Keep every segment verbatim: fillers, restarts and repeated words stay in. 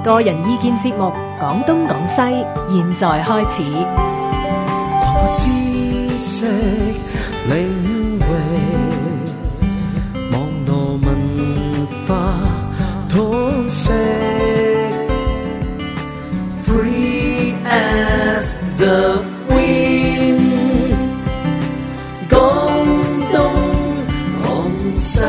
個人意見節目《講東講西》，現在開始。 擴闊知識領域，網絡文化通識 ，Free as the wind， 講東講西。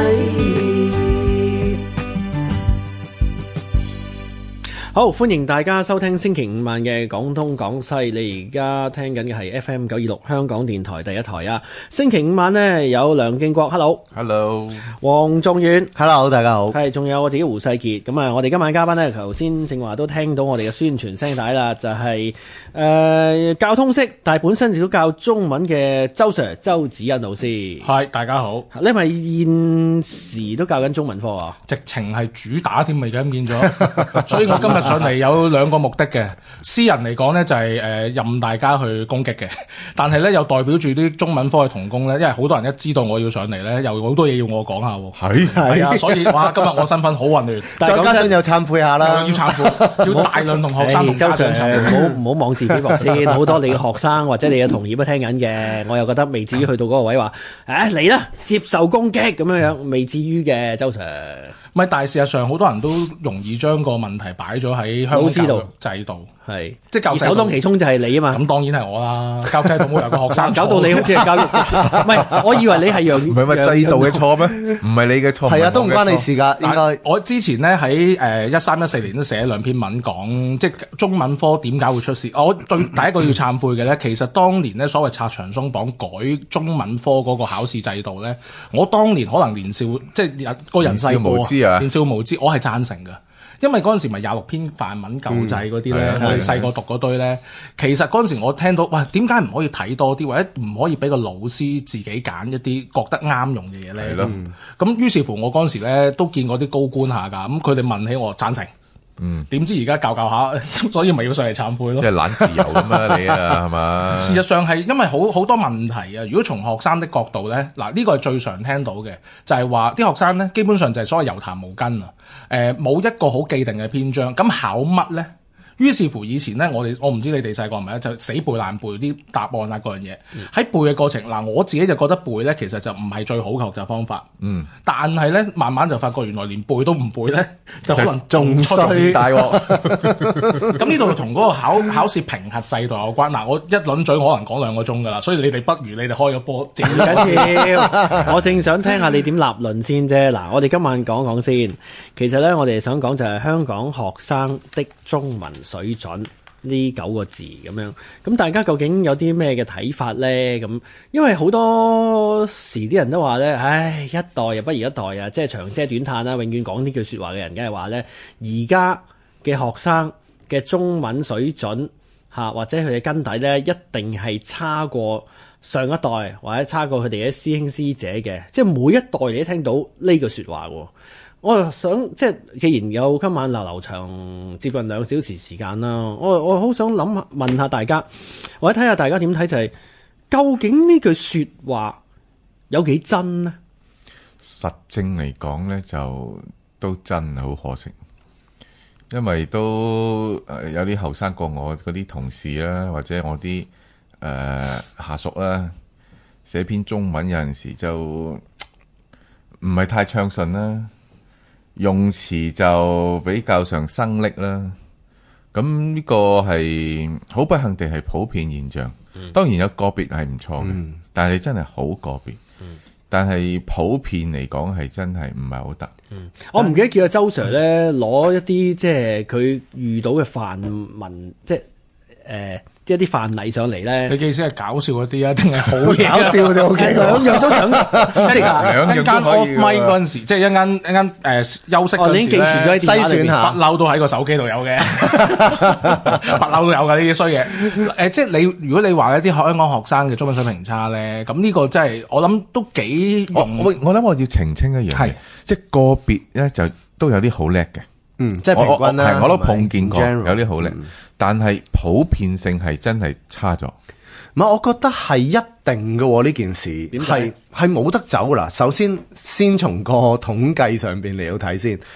好，歡迎大家收聽星期五晚嘅廣東廣西。你而家聽緊嘅係 F M 九二六香港電台第一台啊。星期五晚呢，有梁敬國 ，Hello，Hello， 黃仲遠 ，Hello， 大家好。 係，仲有我自己胡世傑。咁啊，我哋今晚嘉賓呢，頭先正話都聽到我哋嘅宣傳聲帶啦，就係、是、誒、呃、教通識，但係本身亦都教中文嘅周 Sir 周子恩老師。 係，大家好。 你係咪現時都教緊中文科啊？ 直情係主打添，咪而家咁變咗。所以我今日上嚟有兩個目的嘅，私人嚟講呢，就係、是、誒、呃、任大家去攻擊嘅，但係呢，又代表住啲中文科嘅同工呢，因為好多人一知道我要上嚟呢，又好多嘢要我講下喎。 係係啊，所以哇，今日我身份好混亂， 再加上又懺悔下啦， 要懺悔，要大量同學生同家長懺悔。 唔好唔好妄自菲薄先，好多你嘅學生或者你嘅同業都聽緊嘅，我又覺得未至於去到嗰個位話，誒嚟啦，接受攻擊咁樣樣，未至於嘅，周 Sir。 唔係，但係事實上好多人都容易將個問題擺咗喺香港教育制度， 係即係教育制度。 而首當其衝就係你啊嘛。 咁當然係我啦，教育制度冇由個學生搞到你好似係教育，唔係，我以為你係讓唔係咪制度嘅錯咩？唔係你嘅錯，係啊，都唔關你事㗎。應該我之前咧喺誒一三一四年都寫兩篇文講，即係中文科點解會出事。我對第一個要懺悔嘅咧，其實當年咧所謂拆牆鬆綁改中文科嗰個考試制度咧，我當年可能年少即係個人細個。年少無知，我係贊成㗎，因為嗰陣時咪廿六篇範文舊制嗰啲咧，嗯、我哋細個讀嗰堆咧，其實嗰陣時我聽到，哇，點解唔可以睇多啲，或者唔可以俾個老師自己揀一啲覺得啱用嘅嘢咧？咁、嗯、於是乎我嗰陣時咧都見過啲高官下㗎，咁佢哋問起我贊成。嗯，點知而家教教下，所以咪要上嚟懺悔咯。 即係懶自由咁啊，你啊，係嘛？ 事實上係因為好好多問題啊。如果從學生的角度咧，嗱、這、呢個係最常聽到嘅，就係話啲學生咧基本上就係所謂油痰無根啊。誒、呃，冇一個好既定嘅篇章，咁考乜咧？於是乎以前咧，我哋我唔知你哋細個係咪咧，就死背爛背啲答案啊嗰樣嘢。喺、嗯、背嘅過程，嗱我自己就覺得背咧，其實就唔係最好嘅學習方法。嗯。但係咧，慢慢就發覺原來連背都唔背咧，就可能仲出事大鑊。咁呢度同嗰個考考試評核制度有關。嗱，我一輪嘴可能講兩個鐘㗎啦，所以你哋不如你哋開個波。唔緊要，我正想聽下你點立論先啫。嗱，我哋今晚講講先。其實咧，我哋想講就係香港學生的中文水準呢九個字咁樣，咁大家究竟有啲咩嘅睇法咧？咁因為好多時啲人都話咧，唉，一代又不如一代啊，即係長嗟短嘆啦，永遠講呢句説話嘅人，梗係話咧，而家嘅學生嘅中文水準嚇，或者佢嘅根底咧，一定係差過上一代或者差過佢哋嘅師兄師姐嘅，即係每一代你都聽到呢句説話喎。我又想即係，既然有今晚流流長接近兩小時時間啦，我我好想諗問下大家，或者睇下大家點睇，就係、是、究竟呢句説話有幾真呢？ 實證嚟講咧，就都真好可惜，因為都誒有啲後生過我嗰啲同事啦，或者我啲誒、呃、下屬啦，寫篇中文有陣時就唔係太暢順啦。用詞就比較上生僻啦，咁呢個係好不幸地係普遍現象。嗯、當然有個別係唔錯嘅，嗯、但係真係好個別。嗯、但係普遍嚟講係真係唔係好得。 嗯、我唔記得叫阿周 Sir 咧攞一啲即係佢遇到嘅範文，即係誒。呃一啲範例上嚟咧， 你嘅意思係搞笑嗰啲啊，定係好嘢？搞笑就 O K， 兩樣都想，即係一間 off mic 嗰陣時，即係一間一間誒休息嗰陣時咧， 篩選下， 不嬲都喺個手機度有嘅，不嬲都有㗎呢啲衰嘢。誒，即係你如果你話一啲香港學生嘅中文水平差咧，咁呢個真係我諗都幾容易。 我我諗我要澄清一樣嘢，即係個別咧就都有啲好叻嘅。 嗯，即係平均啦， 係我都碰見過有啲好叻，但係普遍性係真係差咗。 唔係，我覺得係一定嘅呢件事，係係冇得走噶啦。首先，先從個統計上邊嚟到睇先。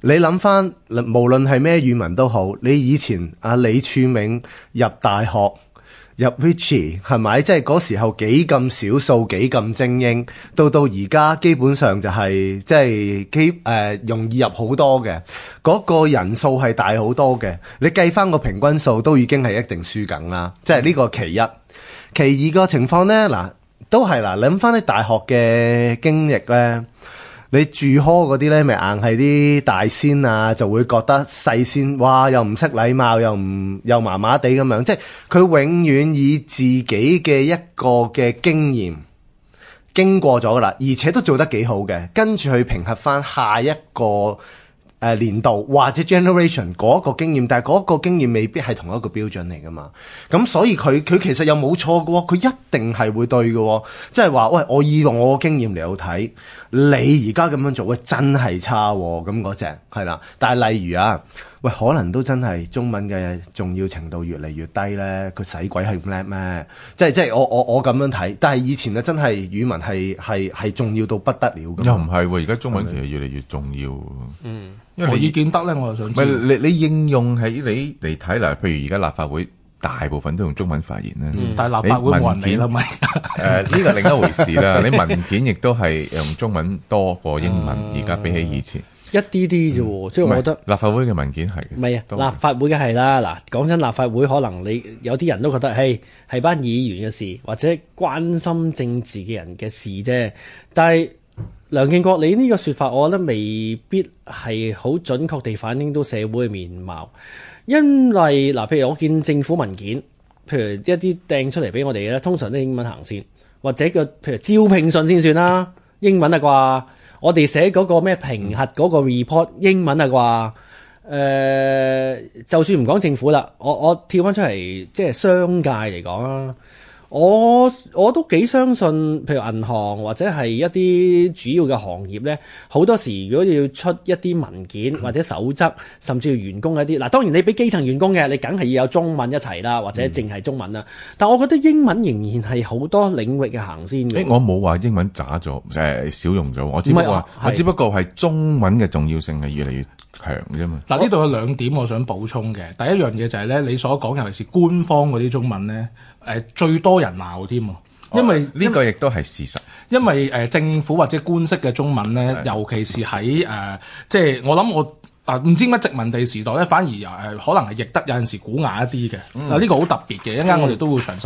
你諗翻，無論係咩語文都好，你以前阿李柱銘入大學入 Vichy 係咪？即係嗰時候幾咁少數，幾咁精英，到到而家基本上就係即係基誒容易入好多嘅，嗰、那個人數係大好多嘅。你計翻個平均數都已經係一定輸緊啦。即係呢個其一，其二個情況咧，嗱都係嗱，諗翻啲大學嘅經歷咧。你住 hall 嗰啲咧，咪硬係啲大仙啊，就會覺得細仙，哇，又唔識禮貌，又唔又麻麻地咁樣，即係佢永遠以自己嘅一個嘅經驗經過咗噶啦，而且都做得幾好嘅，跟住去評核翻下一個誒年度或者 generation 嗰個經驗，但係嗰個經驗未必係同一個標準嚟噶嘛，咁所以佢佢其實又冇錯嘅喎，佢一定係會對嘅喎，即係話喂，我以用我個經驗嚟到睇，你而家咁樣做喂真係差喎，咁嗰隻係啦，但係例如啊，喂可能都真係中文嘅重要程度越嚟越低咧，佢使鬼係咁叻咩？即係即係我我我咁樣睇，但係以前啊真係語文係係係重要到不得了嘅。 又唔係喎，而家中文其實越嚟越重要。 嗯。因為何以見得咧？我就想知。 唔係你你應用喺你嚟睇嗱，譬如而家立法會大部分都用中文發言啦、 嗯，但係立法會冇人理啦咪。 誒呢個另一回事啦。你文件亦都係用中文多過英文，而家比起以前。 一啲啲啫喎，即係、嗯、我覺得立法會嘅文件係唔係啊？立法會嘅係啦，嗱講真，立法會可能你有啲人都覺得，係係班議員嘅事，或者關心政治嘅人嘅事啫，但係。梁敬國，你呢個說法，我覺得未必係好準確地反映到社會嘅面貌，因為嗱，譬如我見政府文件，譬如一啲掟出嚟俾我哋咧，通常都英文行先，或者個譬如招聘信先算啦，英文啊啩，我哋寫嗰個咩評核嗰個 report 英文啊啩，誒、呃，就算唔講政府啦，我我跳翻出嚟，即係商界嚟講啊。我我都幾相信，譬如銀行或者係一啲主要嘅行業咧，好多時如果要出一啲文件或者守則，甚至要員工一啲，嗱當然你俾基層員工嘅，你梗係要有中文一齊啦，或者淨係中文啦。但我覺得英文仍然係好多領域嘅行先嘅。 誒，我冇話英文渣咗，誒少用咗，我只不過、啊、我只不過係中文嘅重要性係越嚟越強啫嘛。嗱，呢度有兩點我想補充嘅，第一樣嘢就係咧，你所講尤其是官方嗰啲中文咧。誒最多人鬧添啊，因為呢、哦這個亦都係事實。因為誒、呃、政府或者官式嘅中文咧，尤其是喺誒、呃、即係我諗我啊唔知乜殖民地時代咧，反而誒、呃、可能係譯得有陣時古雅一啲嘅。嗱、嗯、呢、這個好特別嘅，一陣間我哋都會詳細。